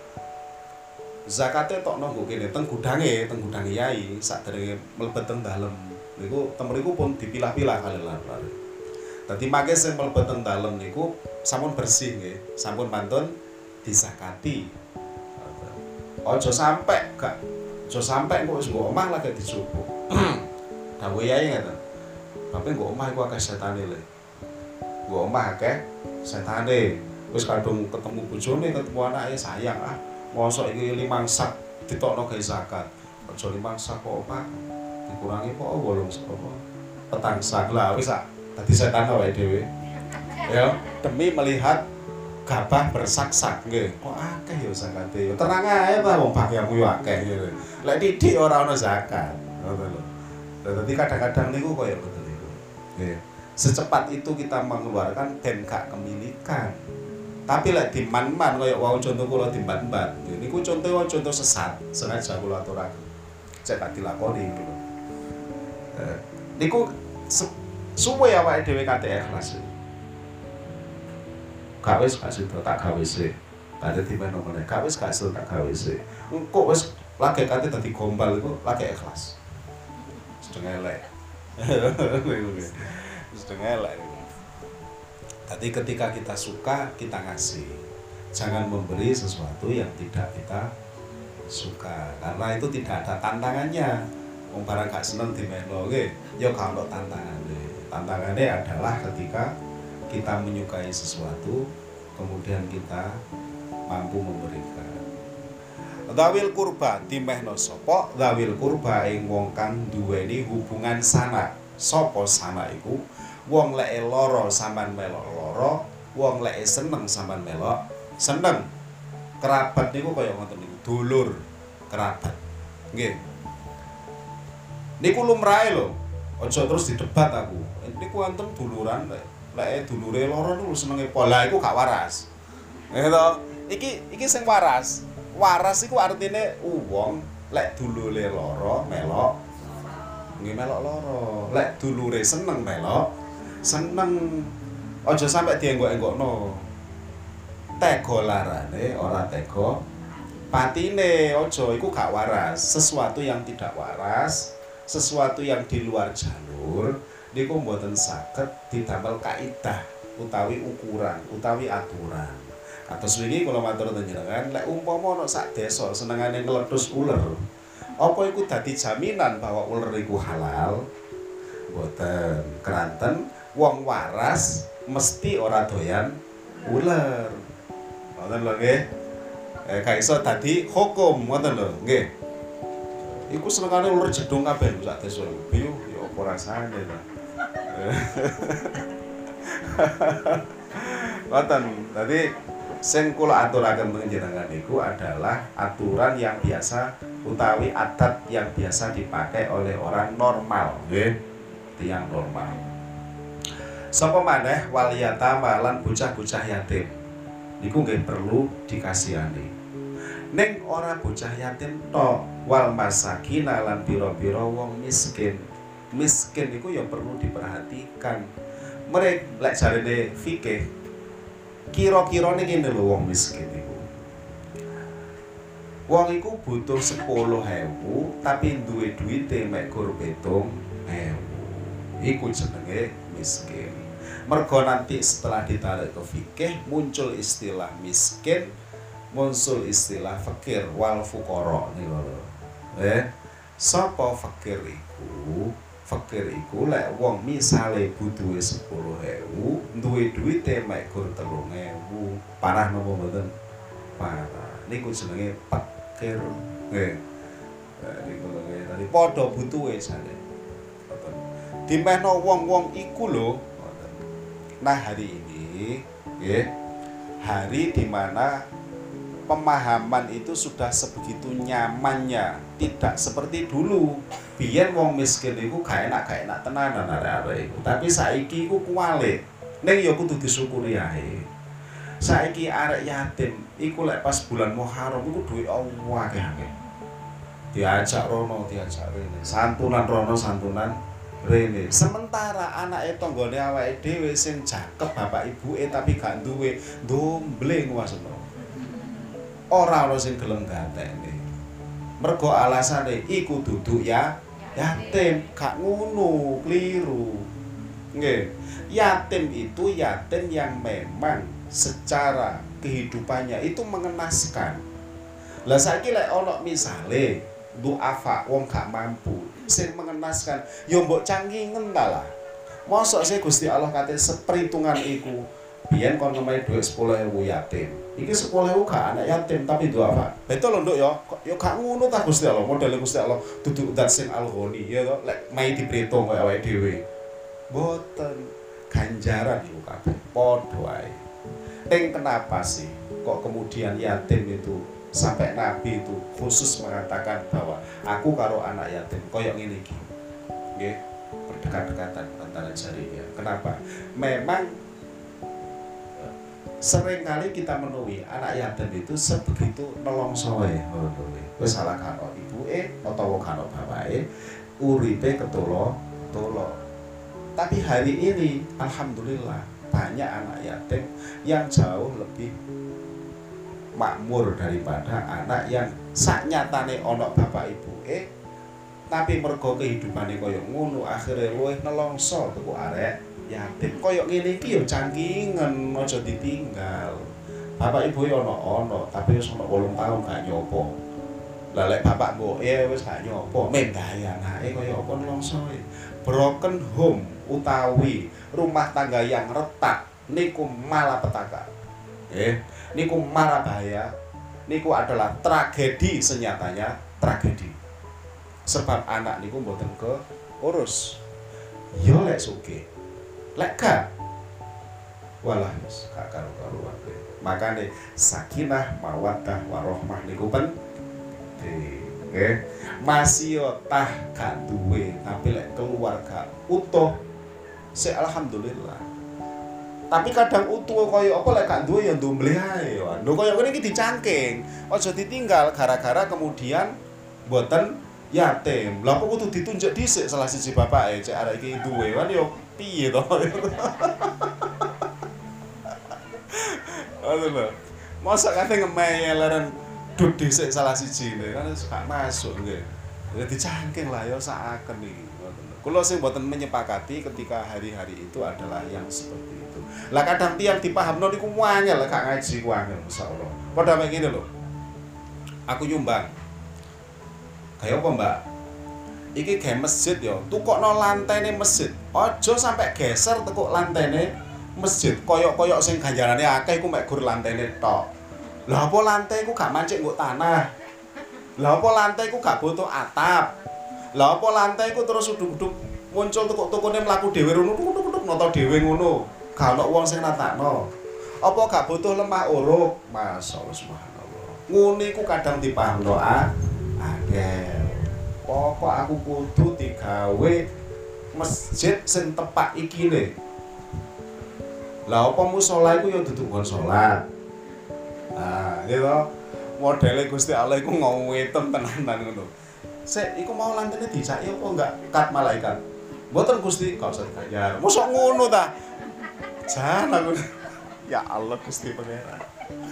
Zakate tok nanggo kene teng gudange, teng gudange yai sakderenge mlebet teng dalem. Niku teng mriku pun dipilah-pilah kali lare. Dadi mangke sing mlebet teng dalem niku sampun bersih nggih, sampun mantun disakati. Aja sampe gak aja sampe kok wis nggo omah lagi dicupuk. Dawuh yai ngeten. Bapak nggo omah iku akeh setane le. Nggo omah akeh setane. Wis kadung ketemu bojone, ketemu anake sayang ah. Mosok iki limang sak ditokno gawe zakat. Aja limang sak kok, Pak. Dikurangi kok wolung sak apa? Petang sak lah wis sak dadi setan awake dhewe. Ya, demi melihat gabah bersak-sak nggih. Kok akeh ya zakate. Ya terang ae ta wong bagianmu yo akeh ngene. Lek titik ora ana zakat. Ngoten lho. Lah dadi kadang-kadang niku koyo ngoten niku. Nggih. Secepat itu kita mengeluarkan dan gak kemilikan. Tapi lek diman-man kaya wau contoh kula dimban-ban. Niku contoh contoh sesat, sengaja kula aturaken. Cek tak dilakoni niku. Eh, niku suwe awake dhewe kate ikhlas. Gak wis gak sida tak gawe sik. Ada dimeno meneh. Gak wis gak sida tak gawe sik. Engko wis lagi kate dadi gombal iku lagi ikhlas. Sedeng elek. Sedeng elek. Jadi ketika kita suka, kita ngasih. Jangan memberi sesuatu yang tidak kita suka. Karena itu tidak ada tantangannya. Wong barang gak seneng dimeno nggih, ya gak ono tantangane. Tantangannya adalah ketika kita menyukai sesuatu, kemudian kita mampu memberikan. Dzawil kurba dimehno sapa? Dzawil kurba ing wong kang duweni hubungan sanak. Sapa sanak iku? Wong lek lara sampean melok lara, wong lek seneng sampean melok seneng. Kerabat niku kaya ngoten niku, dulur kerabat. Nggih. Niku lumrahe lho. Aja terus didebat aku. Niku wonten duluran lek lek dulure lara niku senenge pola iku gak waras. Nggih to? Iki iki sing waras. Waras iku artine wong lek dulure lara melok nggih melok lara. Lek dulure seneng melok seneng. Aja sampe dienggok-enggokno. Tega larane ora tega patine. Aja iku gak waras. Sesuatu yang tidak waras, sesuatu yang di luar jalur niku mboten saged didamel kaidah utawi ukuran, utawi aturan. Kados wingi kula matur panjenengan, lek umpama ana sak desa senengane ngledhus uler, apa iku dadi jaminan bahwa uler iku halal? Mboten. Keranten wong waras mesti ora doyan uler. Ngoten lho nggih. Eh gak iso dadi hukum ngoten lho, nggih. Iku senengane uler jedung kabeh sak desa. Biyo ya apa rasane ta. Ngoten. Dadi sing kula aturaken panjenengan niku adalah aturan yang biasa utawi adat yang biasa dipakai oleh orang normal, nggih. Tiyang normal. Sapa maneh wal yatama lan bocah-bocah yatim. Niku nggih perlu dikasihani. Ning ora bocah yatim tok, wal masakin lan pira-pira wong miskin. Miskin niku ya perlu diperhatikan. Mereka lek jarene fikih kira-kira ngene lho wong miskin iku. Wong iku butuh sepuluh ewu tapi duwe duwite mek gur pitung ewu. Iku jenenge miskin. Mergo nanti setelah ditarik ke fikih muncul istilah miskin, muncul istilah fakir wal fuqara niku lho. Eh, sapa fakir iku? fakir iku lek wong misale butuhe sepuluh ewu, duwe duwite mek gur telung ewu. Parah napa mboten? Parah. Niku jenenge fakir. Nggih. Niku nggih. Dadi padha butuhe jane. Ngoten. Dimehno wong-wong iku lho. Ngoten. Nah, hari ini nggih, hari di mana pemahaman itu sudah sebegitu nyamannya, tidak seperti dulu. Biyen wong miskin iku gak enak gak enak tenanan arek-arek iku. Tapi saiki iku kuwalik. Ning ya kudu disyukuri ae. Saiki arek yatim iku lek pas bulan Muharram iku duwe Allah akeh-akeh. Diajak rono, diajak rene. Santunan rono, santunan rene. Sementara anake tanggane awake dhewe sing jakep bapak ibuke tapi gak duwe, ndomble nguwasno. Ora ana sing gelem gatene. Mergo alasane iku duduk ya yatim, gak ngono, keliru. Nggih. Yatim itu yatim yang memang secara kehidupannya itu mengenaskan. Lah saiki lek ana misale duafa wong gak mampu sing mengenaskan, ya mbok cangkingen ta lah. Mosok sih Gusti Allah kate seperhitungan iku. Biyen kon ngemai dhuwit sepuluh ewu yatim. Iki sepuluh ewu gak anak yatim tapi duafa. Betul lho Nduk ya. Ya gak ngono ta Gusti Allah. Modele Gusti Allah duduk dat sing al-ghani ya to. Lek mai dipreto koyo awake dhewe. Mboten ganjaran iku kabeh padha wae. Ning kenapa sih kok kemudian yatim itu sampai Nabi itu khusus mengatakan bahwa aku karo anak yatim koyo ngene iki. Nggih, berdekat-dekatan antara jarinya. Kenapa? Memang seringkali kita menemui anak yatim itu sebegitu nelongsoe ngono kuwi. Wis salah karo ibuke utawa karo bapake, uripe ketolo-tolo. Tapi hari ini alhamdulillah banyak anak yatim yang jauh lebih makmur daripada anak yang saknyatane ana bapak ibuke tapi mergo kehidupane kaya ngono akhire luwih nelongso tuku arek yatim. Kaya ngene iki ya cangkingen, aja ditinggal. Bapak ibu ya ana-ana, tapi wis ana wolung taun gak nyopo. Lah lek bapak mboke wis gak nyopo, mendahi anake kaya apa nelongsoe. Broken home utawi rumah tangga yang retak niku malapetaka. Eh, niku mara bahaya. Niku adalah tragedi, senyatanya tragedi. Sebab anak niku mboten keurus. Yo lek sugih. Lek gak walah wis gak karo-karuan. Makane sakinah mawaddah warahmah niku penting. Nggih. Masih tah gak duwe, tapi lek keluarga utuh sik alhamdulillah. Tapi kadang utuh kaya apa lek gak duwe ya ndomble ae. Lho kaya ngene iki dicangking. Aja ditinggal gara-gara kemudian mboten yatim. Lah kok kudu ditunjuk dhisik salah siji bapake cek arek iki duwe kan yo piye to. Aduh lho. Mosok kate ngemeh leren dud dhisik salah siji kan gak masuk nggih. Ya dicangking lah ya sakaken iki. Kula sing mboten menyepakati ketika hari-hari itu adalah yang seperti itu. Lah kadang tiyang dipahamno niku wanyel gak ngaji ku angel masyaallah. Padha mek ngene lho. Aku nyumbang. Kayak apa, Mbak? Iki gawe masjid ya, tukokno lantene masjid. Aja sampai geser tekuk lantene masjid. Koyok-koyok sing ganjarane akeh iku mek gur lantene tok. Lah apa lantai iku gak mancik nggo tanah? Lah apa lantai iku gak butuh atap? Lah apa lantai iku terus uduk-uduk muncul tukuk-tukune mlaku dhewe rono tuk-tuk-tuk nata dhewe ngono. Gak ono wong sing natakno. Apa gak butuh lemah uruk? Masyaallah subhanallah. Ngene iku kadang dipahamno ah. Angel. Pokok aku kudu digawe masjid sing tepak iki le. Lah apa musala iku ya dudu nggon salat. Nah, gitu. Modele Gusti Allah iku ngwetem tenanan ngono. Sik iku mau lantene dicaki apa enggak kat malaikat? Mboten Gusti, kok usah dibayar. Mosok ngono ta? Jan aku. Ya Allah Gusti Pangeran.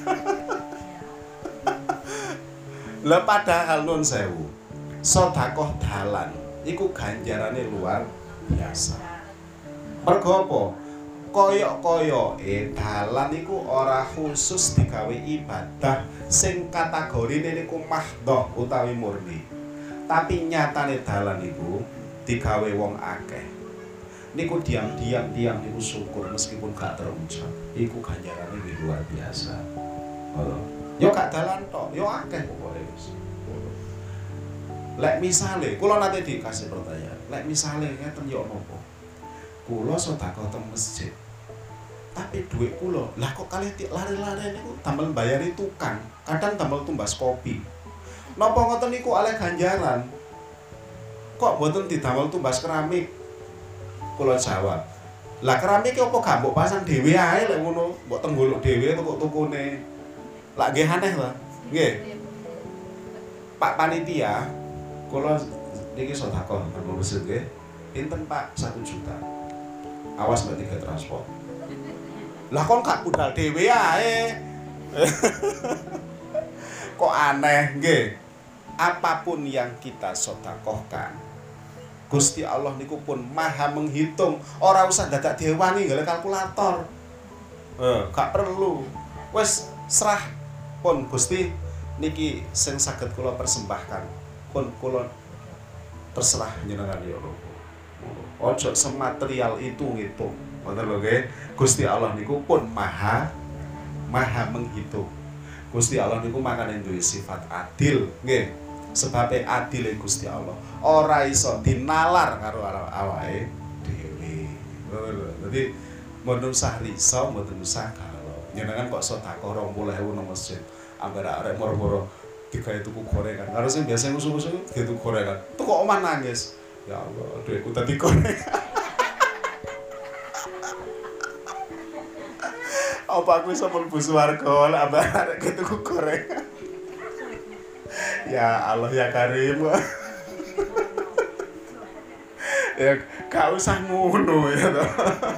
Lah padahal nun sewu. Sedekah dalan iku ganjarane luar biasa. Mergo apa? Koyok-koyoke dalan iku ora khusus digawe ibadah sing kategorine niku mahdhah utawi murni. Tapi nyatane dalan iku digawe wong akeh. Niku diam-diam diam niku syukur meskipun gak terucap. Iku ganjarane luar biasa. Oh. Yo gak dalan tok, yo akeh pokoke wis. Lek misale, kula nate dikasih pertanyaan. Lek misale ngeten yo napa? Kula sedekah teng masjid. Tapi duit kula, lah kok kalih lari-lari niku damel mbayari tukang, kadang damel tumbas kopi. Napa ngoten niku oleh ganjaran? Kok mboten didamel tumbas keramik? Kula jawab, lah keramik ki opo gak mbok pasang dhewe ae lek ngono, mbok tenggolok dhewe tukuk-tukune. Lah nggih aneh ta? Nggih. Pak panitia, kula niki sedekah nang masjid nggih. Pinten Pak? satu juta. Awas mbak tiga transport. Lah kon gak budal dhewe ae. Kok aneh nggih. Apapun yang kita sedekahkan, Gusti Allah niku pun maha menghitung, ora usah dadak dewani nggawe kalkulator. Eh, gak perlu. Wis serah pun Gusti niki sing saged kula persembahkan. Pun kula terserah njenengan ya Allah. Ojo sematerial itu ngitung. Ngoten lho nggih. Gusti Allah niku pun maha maha menghitung. Gusti Allah niku makane duwe sifat adil, nggih. Sebabe adile Gusti Allah ora iso dinalar karo awake dhewe. Dadi mboten usah riso, mboten usah galo. Njenengan kok sedekah rong puluh ewu nang masjid, ambar arek moro-moro digawe tuku gorengan. Karo sing biasa ngusul-ngusul digawe tuku gorengan. Tuku omah nangis. Ya Allah, dhuwitku dadi gorengan. Apa aku iso mlebu swarga lek ambar arek tuku gorengan? Ya Allah ya Karim. Ya gak usah ngono ya toh.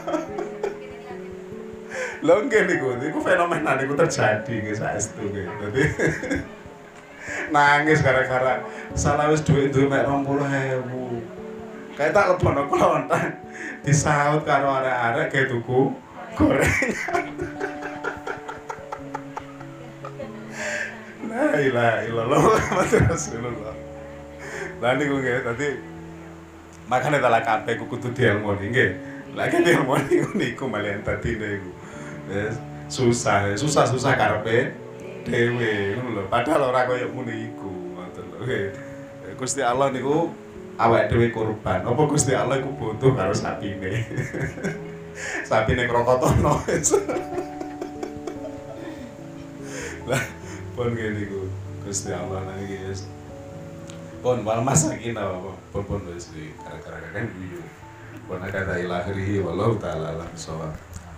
Lho nggih niku, niku fenomena niku terjadi nggih saestu nggih. Dadi nangis gara-gara salah wis dhuwit duwe mek rong puluh ewu. Kayak tak lebono klontang disaut karo arek-arek gawe tuku gorengan. La ilaha illallah Muhammadur Rasulullah. Lah niku nggih dadi makane tala kabeh kudu dielmoni nggih. Lah nek dielmoni niku malian dadine iku. Wis susah, susah-susah karepe dhewe ngono lho. Padahal ora kaya ngono iku, ngoten lho nggih. Gusti Allah niku awake dhewe korban. Apa Gusti Allah iku butuh karo sapine. Sapine krokotono wis. Lah pun gini ku Gusti Allah lagi guys. Pun wal masakin apa pun pun wis di gara-gara kan guyu. Pun kata ilahi wallahu taala alam sawab.